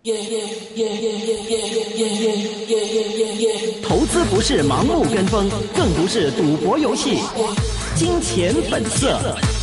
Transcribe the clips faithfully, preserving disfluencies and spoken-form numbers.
投資不是盲目跟風，更不是賭博遊戲。金錢本色。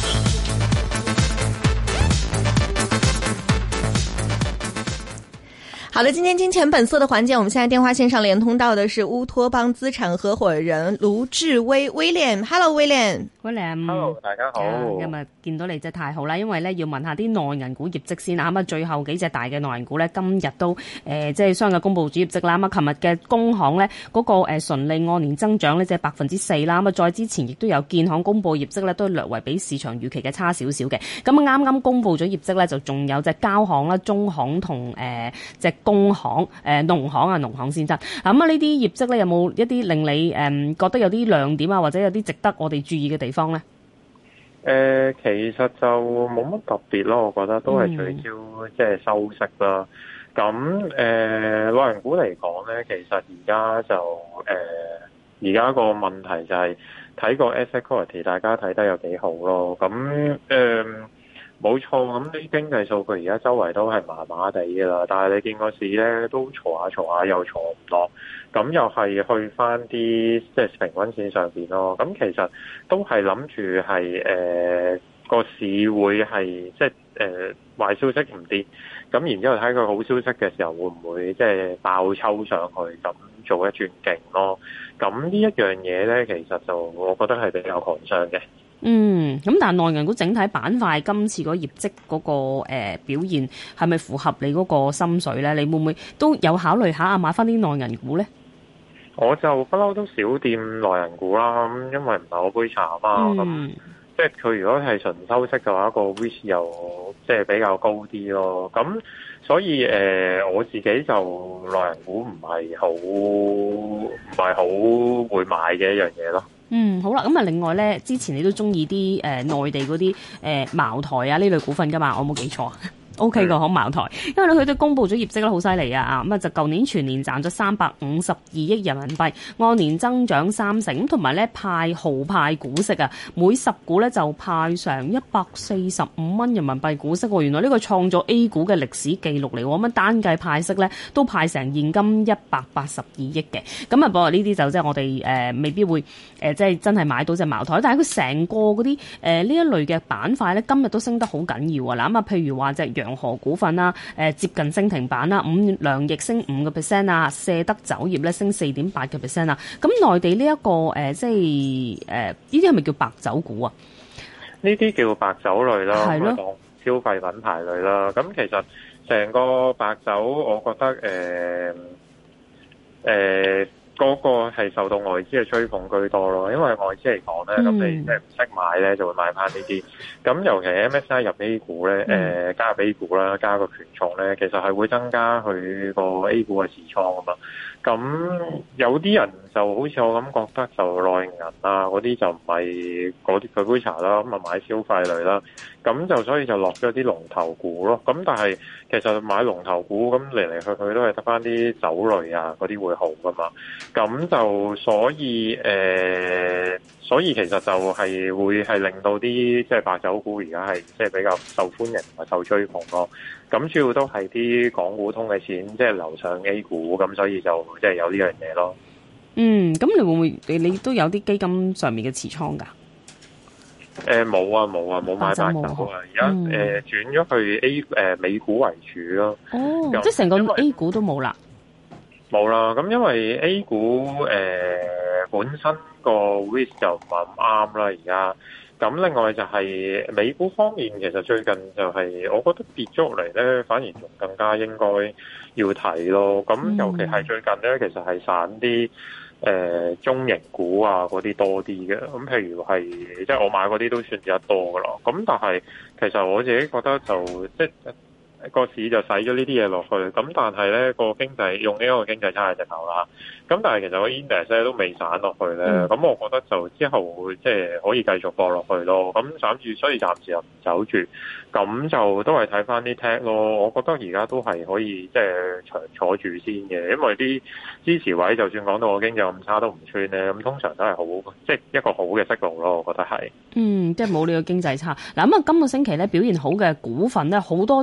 好的，今天金錢本色的環節，我們現在電話線上連通到的是烏托邦資產合夥人盧志威 William。Hello William。William。Hello， 大家好。 今日見到你真係太好啦，因為咧要問下啲內銀股業績先啊。咁啊，最後幾隻大嘅內銀股咧，今日都誒即係相繼公布主業績啦。咁啊，琴日嘅工行咧嗰個誒純利按年增長咧，即係百分之四啦。咁啊，再之前亦都有建行公布業績咧，都略為比市場預期嘅差少少嘅。咁啊，啱啱公布咗業績咧，就仲有隻交行啦、中行同誒隻工行、誒農行啊、農行先得。咁啊，呢啲業績咧有冇一啲令你誒覺得有啲亮點啊，或者有啲值得我哋注意嘅地方咧？ 誒、呃，其實就冇乜特別咯，我覺得都係聚焦即係收息啦。咁誒，內銀股嚟講咧，其實而家就誒，而家個問題就係睇個 asset quality， 大家睇得有幾好咯。咁誒，冇錯，咁啲經濟數據而家周圍都係麻麻地噶啦，但係你見個市咧都坐下坐下又坐唔落，咁又係去翻啲即係平均線上邊咯。咁其實都係諗住係誒個市會係即係誒壞消息唔跌，咁然之後睇佢好消息嘅時候會唔會即係爆抽上去，咁做一轉勁咯。咁呢一樣嘢咧，其實就我覺得係比較寒傷嘅。 嗯，咁但係內銀股整體板塊今次嗰業績嗰、那個誒、呃、表現係咪符合你嗰個心水咧？你會唔會都有考慮下啊買翻啲內銀股咧？ 我就不嬲都少掂內銀股啦，咁因為唔係我杯茶啊嘛，咁、嗯、即係佢如果係純收息嘅話，個 risk 又即係比較高啲咯。咁所以誒、呃，我自己就內銀股唔係好唔係好會買嘅一樣嘢咯。 嗯，好啦，咁啊，另外咧，之前你都中意啲誒內地嗰啲誒茅台啊呢類股份噶嘛？我冇記錯。O K 個，好茅台，因為咧佢都公布咗業績咧，好犀利啊！啊，咁啊就舊年全年賺咗三百五十二億人民幣，按年增長三成，同埋咧派豪派股息啊，每十股咧就派上一百四十五蚊人民幣股息喎。原來呢個創咗 A 股嘅歷史記錄嚟喎，咁啊單計派息咧都派成現金一百八十二億嘅。咁啊，不過呢啲就即係我哋誒、呃、未必會誒、呃、即係真係買到隻茅台，但係佢成個嗰啲誒呢一類嘅板塊咧，今日都升得好緊要啊！嗱咁啊，譬如話隻洋河股份啦，誒接近升停板啦，五糧液升五個 percent 啊，卸德酒業咧升四點八個 percent 啊。咁內地呢、這、一個誒、呃，即係誒呢啲係咪叫白酒股啊？ 呢啲叫白酒類啦， 係咯， 當消費品牌類啦。咁其實成個白酒，我覺得誒誒。呃呃嗰個係受到外資嘅追捧居多咯，因為外資嚟講咧，咁、嗯、你即係唔識買咧，就會買翻呢啲。咁尤其 M S I 入 A 股咧，誒、嗯呃、加入 A 股啦，加個權重咧，其實係會增加佢個 A 股嘅持倉啊嘛。咁有啲人就好似我咁覺得就內銀啊嗰啲就唔係嗰啲佢杯茶啦，咁啊買消費類啦。咁就所以就落咗啲龍頭股咯。咁但係其實買龍頭股咁嚟嚟去去都係得翻啲酒類啊嗰啲會好噶嘛。咁就所以誒、呃，所以其實就係會係令到啲即係白酒股而家係即係比較受歡迎同埋受追捧咯。咁主要都係啲港股通嘅錢即係流上 A 股，咁所以就即係有呢樣嘢咯。 嗯，咁你會唔會你你都有啲基金上面嘅持倉㗎？ 誒冇啊冇啊冇買白酒啊！而家誒轉咗去 A 誒、呃、美股為主咯。 哦，即係成個 A 股都冇啦。 冇啦，咁因為 A 股誒、呃、本身個 risk 就唔係咁啱啦，而家咁另外就係美股方面，其實最近就係我覺得跌咗落嚟咧，反而仲更加應該要睇咯。咁尤其係最近咧，其實係散啲誒、呃、中型股啊嗰啲多啲嘅。咁譬如係即係我買嗰啲都算得多噶啦。咁但係其實我自己覺得就即係。個市就使咗呢啲嘢落去，咁但係咧個經濟用呢個經濟差嘅隻頭啦，咁但係其實個 index 咧都未散落去咧，咁、嗯、我覺得就之後會即係可以繼續播落去咯，咁暫住所以暫時又唔走住，咁就都係睇翻啲 tech 咯，我覺得而家都係可以即係長坐住先嘅，因為啲支持位就算講到個經濟咁差都唔穿咧，咁通常都係好即係一個好嘅息路咯，我覺得係。 嗯，即係冇呢個經濟差。嗱咁啊，今個星期咧表現好嘅股份咧，好多隻都係。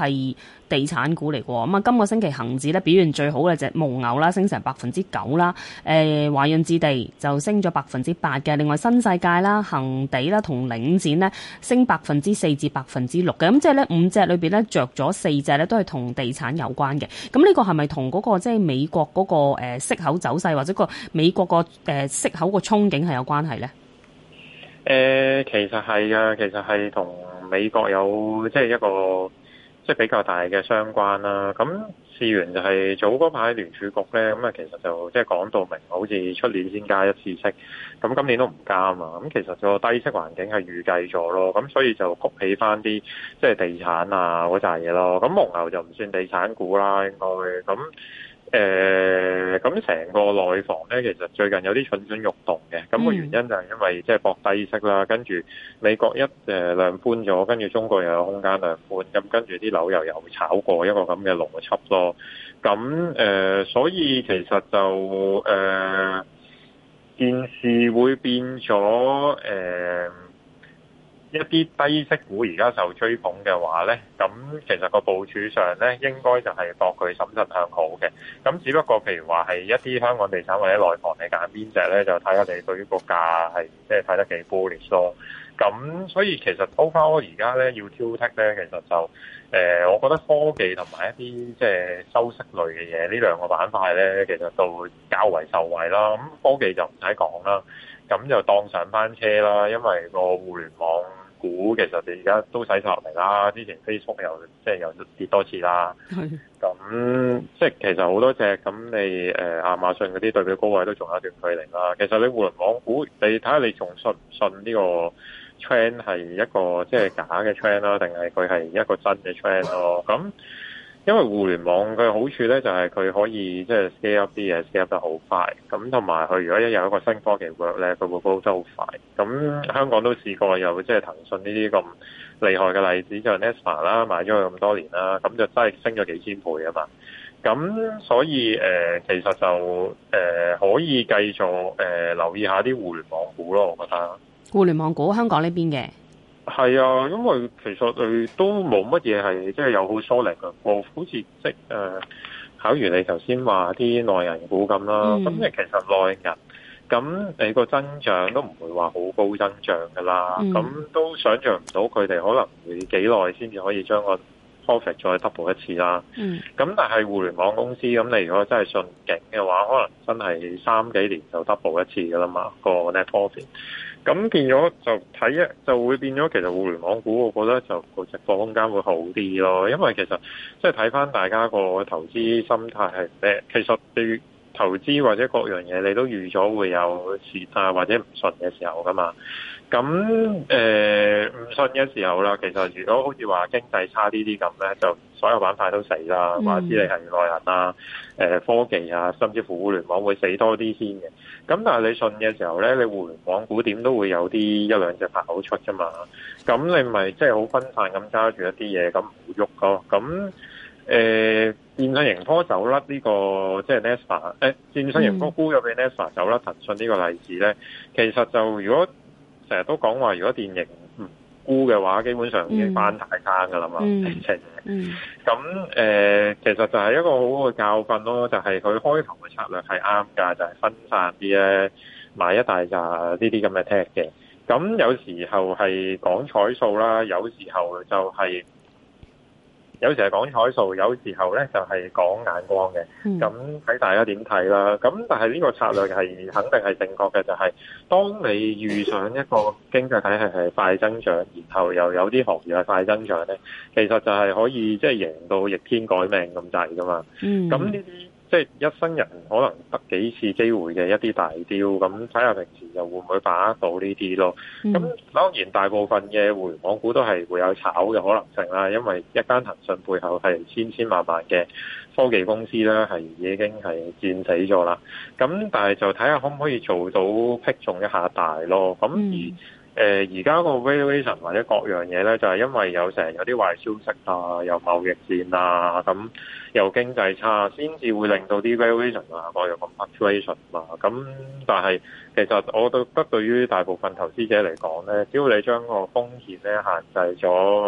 係地產股嚟喎。咁啊，今個星期恒指咧表現最好嘅隻蒙牛啦，升成百分之九啦。誒，華潤置地就升咗百分之八嘅。另外新世界啦、恒地啦同領展咧升百分之四至百分之六嘅。咁即係咧五隻裏邊咧着咗四隻咧都係同地產有關嘅。咁呢個係咪同嗰個即係美國嗰個誒息口走勢或者個美國個誒息口個憧憬係有關係咧？ 誒、呃，其實係噶，其實係同美國有即係一個即係比較大嘅相關啦。咁事緣就係早嗰排聯儲局咧，咁啊其實就即係講到明，好似出年先加一次息，咁今年都唔加啊嘛。咁其實個低息環境係預計咗咯，咁所以就谷起翻啲即係地產啊嗰扎嘢咯。咁蒙牛就唔算地產股啦，應該咁。誒咁成個內房咧，其實最近有啲蠢蠢欲動嘅，咁、那個原因就係因為即係博低息啦，跟住美國一誒、呃、量寬咗，跟住中國又有空間量寬，咁跟住啲樓又又炒過一個咁嘅邏輯咯。咁誒、呃，所以其實就誒、呃、件事會變咗誒。呃一啲低息股而家受追捧嘅話咧，咁其實個部署上咧應該就係博佢審慎向好嘅。咁只不過譬如話係一啲香港地產或者內房，你揀邊隻咧，就睇下你對於個價係即係睇得幾 bullish 咯。咁所以其實 overall 而家咧要挑剔咧，其實就誒、呃，我覺得科技同埋一啲即係收息類嘅嘢，呢兩個板塊咧，其實就會較為受惠啦。咁科技就唔使講啦，咁就當上班車啦，因為個互聯網股其實你而家都洗晒落嚟啦，之前 Facebook 又即係又跌多次啦，咁即係其實好多隻咁你誒、呃、亞馬遜嗰啲對比高位都仲有一段距離啦。其實你互聯網股，你睇下你仲信唔信呢個 trend 係一個即係假嘅 trend 啦，定係佢係一個真嘅 trend 咯？咁因為互聯網嘅好處咧，就係佢可以即係 scale up 啲嘢 scale up 得好快，咁同埋佢如果一有一個新科技 work 咧，佢會高得好快。咁香港都試過有即係騰訊呢啲咁厲害嘅例子，就 Nespa 啦，買咗佢咁多年啦，咁就真係升咗幾千倍啊嘛。咁所以誒、呃，其實就誒、呃、可以繼續誒、呃、留意下啲互聯網股咯，我覺得。互聯網股香港呢邊嘅？係啊，因為其實佢都冇乜嘢係即係有好 solid 嘅，我好似即係誒，考如你頭先話啲內銀股咁啦，咁你、嗯、其實內銀咁你個增長都唔會話好高增長噶啦，咁、嗯、都想象唔到佢哋可能會幾耐先至可以將個 profit 再 double 一次啦。嗯，咁但係互聯網公司咁，你如果真係信景嘅話，可能真係三幾年就 double 一次噶啦嘛，個 net profit。咁變咗就睇一就會變咗，其實互聯網股我覺得就個直播空間會好啲咯，因為其實即係睇翻大家個投資心態係咩，其實對投資或者各樣嘢你都預咗會有時啊或者唔順嘅時候噶嘛。咁誒唔順嘅時候啦，其實如果好似話經濟差啲啲咁咧，就所有板塊都死啦，話知你係內銀啊、誒科技啊，甚至乎互聯網會死多啲先嘅。咁但係你順嘅時候咧，你互聯網股點都會有啲一兩隻跑出啫嘛。咁你咪即係好分散咁揸住一啲嘢，咁唔喐咯。咁誒、呃、電訊盈科走甩呢、這個即係 Nespa 誒電訊盈科沽咗俾 Nespa 走甩騰訊呢個例子咧，其實就如果成日都講話，如果電盈唔沽嘅話，基本上已經翻大餐噶啦嘛，直情。咁誒，其實就係一個好好嘅教訓咯，就係佢開頭嘅策略係啱㗎，就係、是、分散啲咧，買一大扎呢啲咁嘅 tech 嘅。咁有時候係講彩數啦，有時候就係、是。有時係講彩數，有時候咧就係講眼光嘅。咁睇大家點睇啦。咁但係呢個策略係肯定係正確嘅，就係、是、當你遇上一個經濟體系係快增長，然後又有啲行業係快增長咧，其實就係可以即係贏到逆天改命咁滯噶嘛。咁呢啲即係一生人可能得幾次機會嘅一啲大雕，咁睇下平時又會唔會把握到呢啲咯？咁、嗯、當然大部分嘅互聯網股都係會有炒嘅可能性啦，因為一間騰訊背後係千千萬萬嘅科技公司啦，係已經係戰死咗啦。咁但係就睇下可唔可以做到劈中一下大咯？咁而誒而家個 valuation 或者各樣嘢咧，就係、是、因為有成有啲壞消息啊，有貿易戰啊，咁又經濟差，先至會令到啲 valuation 啊，個有個 fluctuation 啊。咁但係其實我覺得對於大部分投資者嚟講咧，只要你將個風險咧限制咗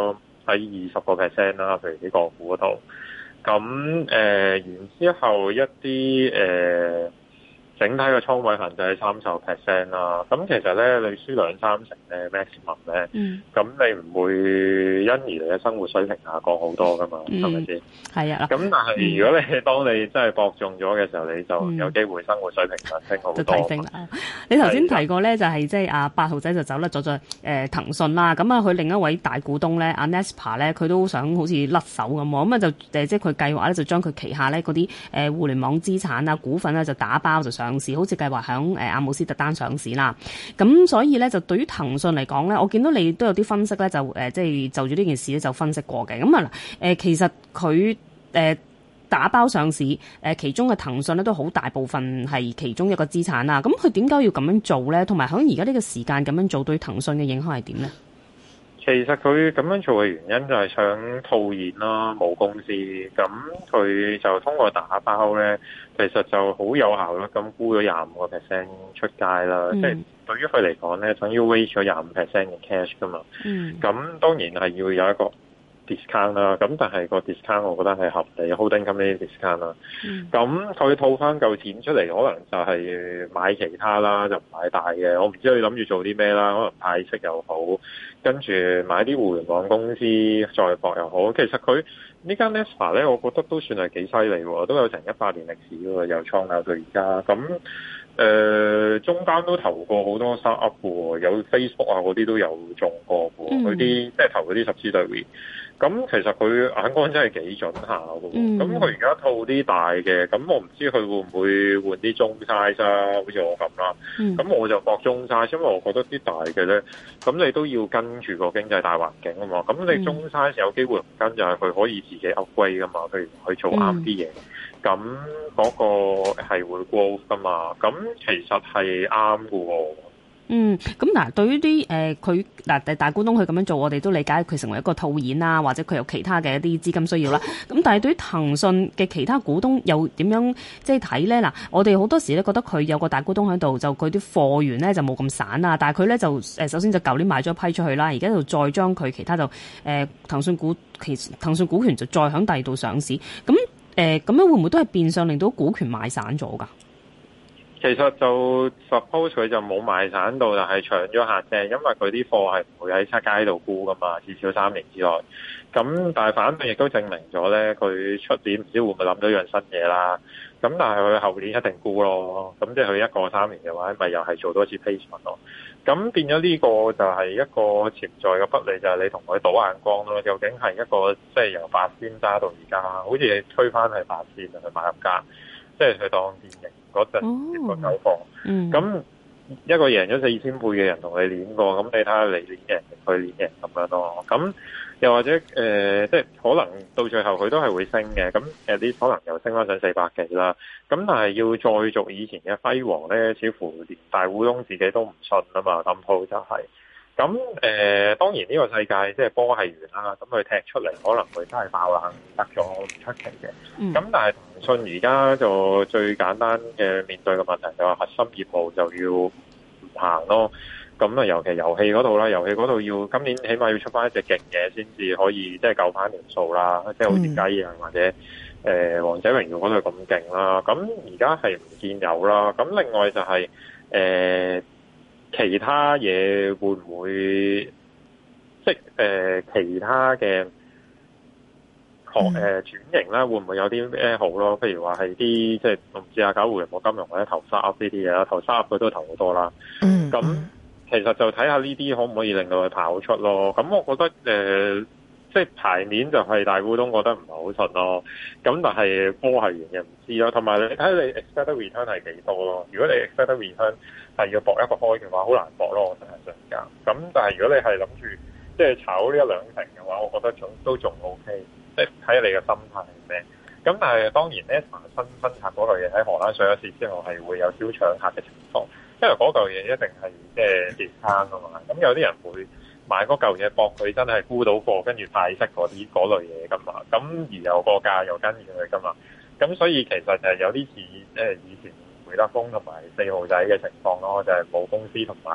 喺二十個 percent 啦，譬如呢個股嗰度。咁誒、呃，然之後一啲誒。呃整體嘅倉位限制係三十 percent 啦，咁其實咧你輸兩三成咧 maximum 咧，咁、嗯、你唔會因而你嘅生活水平下降好多噶嘛，係咪先？係啊，咁但係如果你、嗯、當你真係博中咗嘅時候，你就有機會生活水平上升好多。就提升啦！ 你頭先提過咧，就係即係阿八號仔就走甩咗咗誒騰訊啦，咁啊佢另一位大股東咧，阿 Naspers 咧，佢都想好似甩手咁喎，咁啊就誒即係佢計劃咧就將佢旗下咧嗰啲誒互聯網資產啊股份咧就打包就上市，好似計劃響誒阿姆斯特丹上市啦。咁所以咧就對於騰訊嚟講咧，我見到你都有啲分析咧，就誒即係就住呢件事咧就分析過嘅。咁啊嗱誒，其實佢誒、呃、打包上市誒、呃，其中嘅騰訊咧都好大部分係其中一個資產啦。咁佢點解要咁樣做咧？同埋響而家呢個時間咁樣做，對騰訊嘅影響係點咧？ 其實佢咁樣做嘅原因就係想套現啦，冇公司，咁佢就通過打包咧，其實就好有效率咁沽咗廿五個 percent 出街啦。嗯、即係對於佢嚟講咧，等於 raise 咗廿五 percent 嘅 cash 噶嘛。嗯。咁當然係要有一個 discount 啦，咁但係個 discount 我覺得係合理 ，holding company discount 啦。咁佢、嗯、套翻嚿錢出嚟，可能就係買其他啦，就唔買大嘅。我唔知佢諗住做啲咩啦，可能派息又好，跟住買啲互聯網公司再博又好。其實佢呢間 Naspers 咧，我覺得都算係幾犀利喎，都有成一百年歷史喎，由創立到而家。咁誒、呃，中間都投過好多 startup 喎，有 Facebook 啊嗰啲都有中過喎，嗰啲、嗯、即係投嗰啲十支對 V。咁其實佢眼光真係幾準下嘅，咁佢而家套啲大嘅，咁我唔知佢會唔會換啲中 size 啊，好似我咁啦。咁、嗯、我就博中 size，因為我覺得啲大嘅咧，咁你都要跟住個經濟大環境啊嘛。咁你中 size 有機會唔跟，就係佢可以自己 upgrade 噶嘛，譬如去做啱啲嘢，咁嗰、嗯、個係會 growth 噶嘛。咁其實係啱嘅喎。 嗯，咁嗱，對於啲誒佢嗱大股東佢咁樣做，我哋都理解佢成為一個套現啦，或者佢有其他嘅一啲資金需要啦。咁但係對於騰訊嘅其他股東又點樣即係睇咧？嗱，我哋好多時咧覺得佢有個大股東喺度，就佢啲貨源咧就冇咁散啊。但係佢咧就誒首先就舊年賣咗一批出去啦，而家就再將佢其他就誒、呃、騰訊股其實騰訊股權就再響第二度上市。咁誒咁樣會唔會都係變相令到股權賣散咗㗎？ 其實就 suppose 佢就冇賣散到，但係搶咗客啫，因為佢啲貨係唔會喺出街度沽噶嘛，至少三年之內。咁但係反面亦都證明咗咧，佢出年唔知會唔會諗到樣新嘢啦。咁但係佢後年一定沽咯。咁即係佢一個三年嘅話，咪又係做多次 placement 咯。咁變咗呢個就係一個潛在嘅不利，就係、是、你同佢賭眼光咯。究竟係一個即係由八仙揸到而家，好似你推翻係八仙去買入價，即係佢當電影嗰陣結果走貨。咁、嗯、一個贏咗四千倍嘅人同你練過，咁你睇下你練贏定佢練贏咁樣咯。咁又或者誒、呃，即係可能到最後佢都係會升嘅。咁誒啲可能又升翻上四百幾啦。咁但係要再續以前嘅輝煌咧，似乎連大股東自己都唔信啊嘛。咁鋪就係、是。咁誒、呃，當然呢個世界即係波係圓啦。咁佢踢出嚟可能佢真係爆冷得咗，唔出奇嘅。咁、嗯、但係騰訊而家就最簡單嘅面對嘅問題就係核心業務就要唔行咯。咁啊，尤其遊戲嗰度啦，遊戲嗰度要今年起碼要出翻一隻勁嘢先至可以即係救翻條數啦。即係好似雞啊或者誒、呃、王者榮耀嗰度咁勁啦。咁而家係唔見有啦。咁另外就係、是、誒。呃其他嘢會唔會即係誒、呃、其他嘅學誒轉型啦？會唔會有啲咩好咯？譬如話係啲即係我唔知啊，搞互聯網金融或者投 startup 呢啲嘢啦，投 startup 佢都投好多啦。嗯，咁其實就睇下呢啲可唔可以令到佢跑出咯。咁我覺得誒、呃，即係牌面就係大股東覺得唔係好順咯。咁但係波係完嘅唔知咯。同埋你睇你 expected return 係幾多咯？如果你 expected return係要搏一個開嘅話，好難搏咯，我成日上架。咁但係如果你係諗住即係炒呢一兩成嘅話，我覺得仲都仲 O K。即係睇下你嘅心態係咩。咁但係當然咧，新分拆嗰類嘢喺荷蘭上咗市之後係會有少搶客嘅情況，因為嗰嚿嘢一定係即係跌餐啊嘛。咁有啲人會買嗰嚿嘢搏佢真係沽到貨，跟住派息嗰啲嗰類嘢噶嘛。咁而有個價又跟住佢噶嘛。咁所以其實就係有啲似誒以前會德豐同埋四號仔嘅情況咯，就係、是、冇公司同埋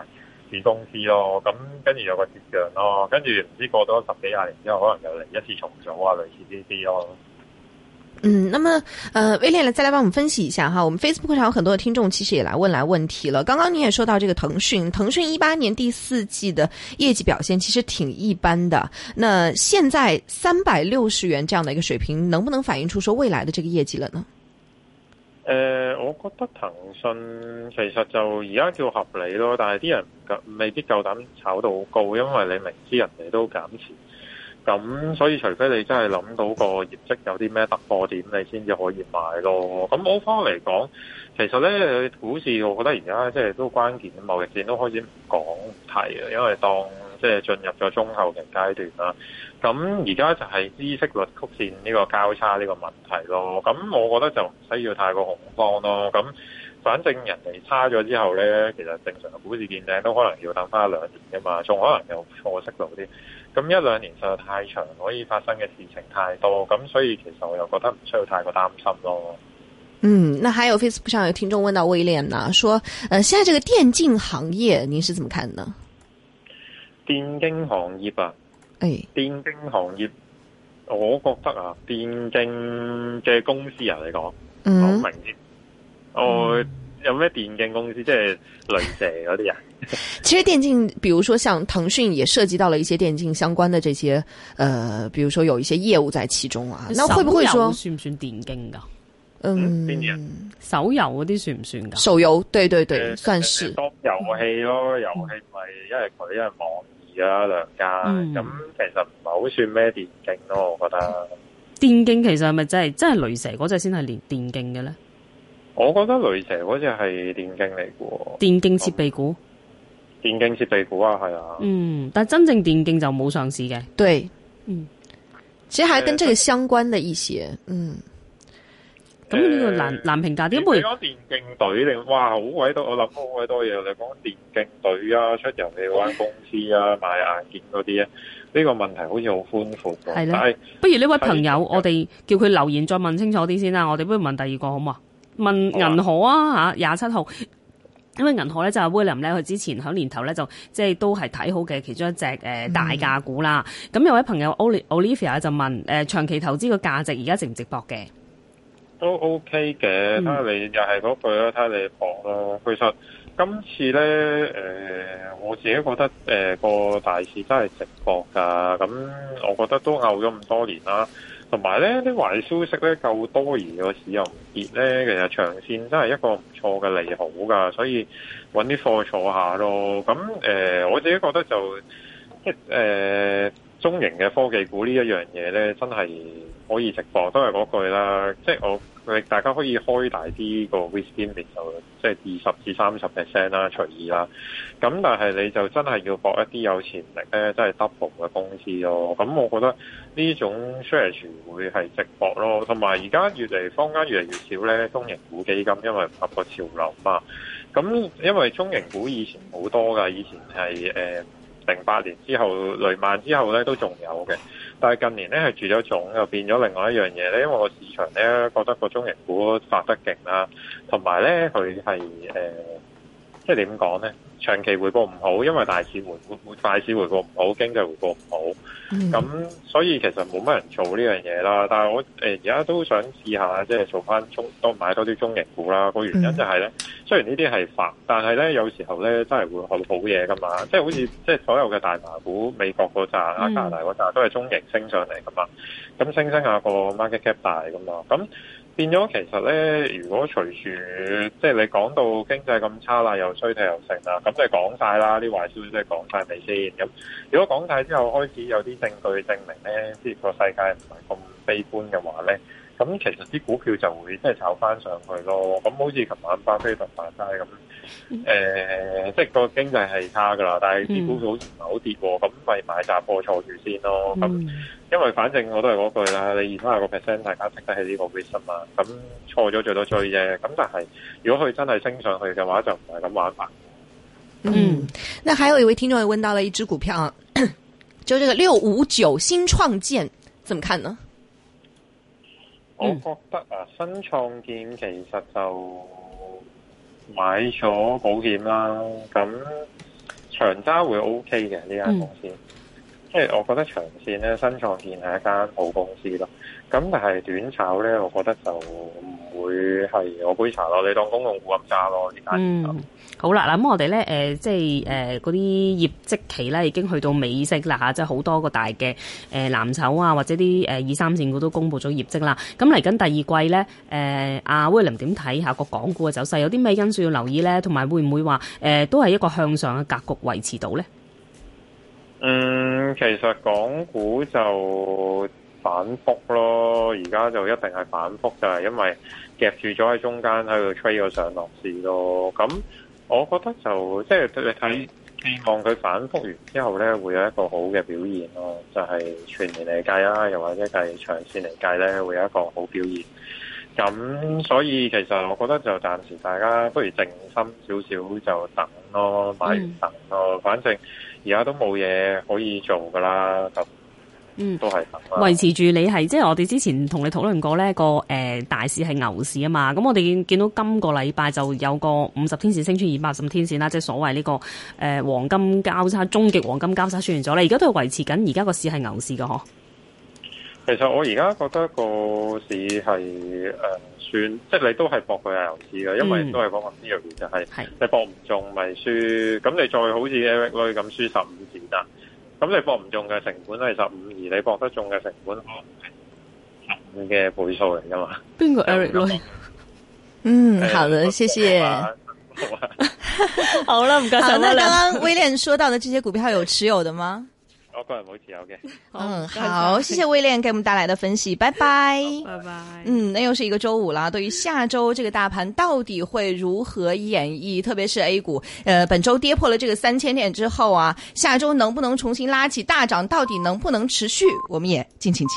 子公司咯，咁跟住有個折讓咯，跟住唔知過多十幾廿年之後，可能又嚟一次重組啊，類似呢啲咯。 嗯，那麼，呃，威廉再來幫我們分析一下哈。我們 Facebook 上有很多的聽眾其實也來問來問題了。剛剛你也說到這個騰訊，騰訊一八年第四季的業績表現其實挺一般的。那現在三百六十元這樣的一個水平，能不能反映出說未來的這個業績了呢？ 誒、呃，我覺得騰訊其實就而家叫合理咯，但係啲人未必夠膽炒到好高，因為你明知人哋都減持。咁所以除非你真係諗到個業績有啲咩突破點，你先至可以買咯。咁歐方嚟講，其實咧股市我覺得而家即係都關鍵，貿易戰都開始唔講唔提啊，因為當即係進入咗中後期階段啦。咁而家就係孳息率曲線呢個交叉呢個問題咯。咁我覺得就唔需要太過恐慌咯。咁反正人哋差咗之後咧，其實正常嘅股市見頂都可能要等翻一兩年㗎嘛，仲可能有錯息路啲。咁一兩年實在太長，可以發生嘅事情太多，咁所以其實我又覺得唔需要太過擔心咯。 嗯，那還有 Facebook 上有聽眾問到威廉呢，說，呃，現在這個電競行業，您是怎麼看呢？ 電競行業啊， 誒， 電競行業，我覺得啊，電競嘅公司啊嚟講，嗯，好明啲，我。嗯有咩電競公司即係雷蛇嗰啲啊？ 其實電競，比如說像騰訊也涉及到了一些電競相關的這些，呃，比如說有一些業務在其中啊。那會不會說算唔算電競噶？ 嗯， 手遊嗰啲算唔算噶？ 手遊，對對對，呃、算是。 當遊戲咯，遊戲咪一係佢一係網易啊兩家，咁、嗯、其實唔係好算咩電競咯，我覺得。 電競其實係咪真係真係雷蛇嗰隻先係連電競嘅咧？ 我覺得雷蛇嗰隻係電競嚟嘅， 電競設備股， 電競設備股啊，係啊， 嗯，但真正電競就冇上市嘅， 對， 嗯， 其實還跟這個相關的一些，嗯， 咁呢個難難評價啲， 你講電競隊定哇好鬼多，我諗好鬼多嘢，你講電競隊啊，出遊戲嗰間公司啊，買硬件嗰啲啊，呢個問題好似好寬闊嘅，係咧， 不如呢位朋友，我哋叫佢留言再問清楚啲先啦，我哋不如問第二個好嘛？問銀河啊吓，廿七號，因為銀河咧就係 William 咧，佢之前喺年頭咧就即係都係睇好嘅其中一隻誒、呃、大價股啦。咁、嗯、有位朋友 Olivia 就問誒、呃、長期投資個價值而家值唔值博嘅？ 都 OK 嘅，睇下你又係嗰句啦，睇下你博咯。其實今次咧誒、呃，我自己覺得誒個、呃、大市真係值博噶。咁我覺得都拗咗咁多年啦。同埋咧啲壞消息咧夠多，而個市又唔跌咧，其實長線真係一個唔錯嘅利好噶，所以揾啲貨坐下咯。咁誒、呃，我自己覺得就即係誒中型嘅科技股呢一樣嘢咧，真係可以直播，都係嗰句啦。即係我大家可以開大啲個 risk limit 就即係二十至三十 percent 啦，隨意啦。咁但係你就真係要搏一啲有潛力咧，真係 double 嘅公司咯。咁我覺得呢種 strategy 會係直博咯。同埋而家越嚟坊間越嚟越少咧中型股基金，因為唔合個潮流嘛。咁因為中型股以前好多㗎，以前係誒零八年之後雷曼之後咧都仲有嘅。但係近年咧係住咗種，又變咗另外一樣嘢咧，因為個市場咧覺得個中型股發得勁啦，同埋咧佢係誒，即係點講咧？長期回報唔好，因為大市回回大市回報唔好，經濟回報唔好，咁、嗯、所以其實冇乜人做呢樣嘢啦。但係我誒而家都想試下，即係做翻中多買多啲中型股啦。個原因就係咧，雖然呢啲係發，但係咧有時候咧真係會好好嘢噶嘛。即係好似即係所有嘅大麻股，美國嗰扎啊、加拿大嗰扎都係中型升上嚟噶嘛。咁升升下個 market cap 大噶嘛。咁變咗其實咧，如果隨住即係你講到經濟咁差啦，又衰退又剩啦，咁即係講晒啦，啲壞消息即係講晒未先？咁如果講晒之後開始有啲證據證明咧，即係個世界唔係咁悲觀嘅話咧，咁其實啲股票就會即係炒翻上去咯。咁好似琴晚巴菲特話齋咁，誒、呃，即係個經濟係差噶啦，但係啲股票好似唔係好跌喎，咁咪買紮貨坐住先咯。咁、嗯、因為反正我都係嗰句啦，你二三十個 percent 大家識得起呢個 risk 嘛，咁錯咗最多追啫。咁但係如果佢真係升上去嘅話，就唔係咁玩法。 嗯，那還有一位聽眾也問到了一支股票啊，就這個六五九新創建，怎麼看呢？ 我覺得啊，新創建其實就買咗保險啦，咁長揸會 O K 嘅呢間公司，嗯、即係我覺得長線咧，新創建係一間好公司咯。咁但係短炒咧，我覺得就唔會係我杯茶咯。你當公共股咁揸咯，呢間。 嗯，好啦，嗱咁我哋咧誒，即係誒嗰啲業績期咧已經去到尾聲啦嚇，即係好多個大嘅誒、呃、藍籌啊，或者啲誒二三線股都公布咗業績啦。咁嚟緊第二季咧，誒阿 William 點睇下個港股嘅走勢？有啲咩因素要留意咧？同埋會唔會話誒、呃、都係一個向上嘅格局維持到咧？ 嗯，其實港股就反覆咯，而家就一定係反覆，就係因為夾住咗喺中間喺度吹個上落市咯。咁我覺得就即係你睇，希望佢反覆完之後咧，會有一個好嘅表現咯。就係、是、全年嚟計啦，又或者係長線嚟計咧，會有一個好表現。咁所以其實我覺得就暫時大家不如靜心少少就等咯，買完等咯。嗯、反正而家都冇嘢可以做噶啦，就。嗯，都係維持住你係，即係我哋之前同你討論過呢個誒、呃、大市係牛市啊嘛，咁我哋見到今個禮拜就有個五十天線升穿二百五十天線啦，即係所謂呢、這個誒、呃、黃金交叉，終極黃金交叉出現咗啦，而家都係維持緊，而家個市係牛市噶嗬。 其實我而家覺得個市係誒、呃、算，即係你都係搏佢係牛市嘅，因為都係講個 theory 就係、是、你搏唔中咪輸，咁你再好似 Eric Lui 咁輸十五次啦。咁你搏唔中嘅成本係十五，而你搏得中嘅成本可能係十五嘅倍數嚟噶嘛？ 邊個 Eric Lui？ 嗯，好的，謝謝。好了，唔該晒。那剛剛威廉說到的這些股票有持有的嗎？ 我個人冇持有嘅。 嗯，好，謝謝威廉給我們帶來的分析，拜拜， 拜拜。 嗯，那又是一個周五啦。對於下周這個大盤到底會如何演繹，特別是 A 股，呃，本周跌破了這個三千點之後啊，下周能不能重新拉起大漲，到底能不能持續，我們也敬請期待。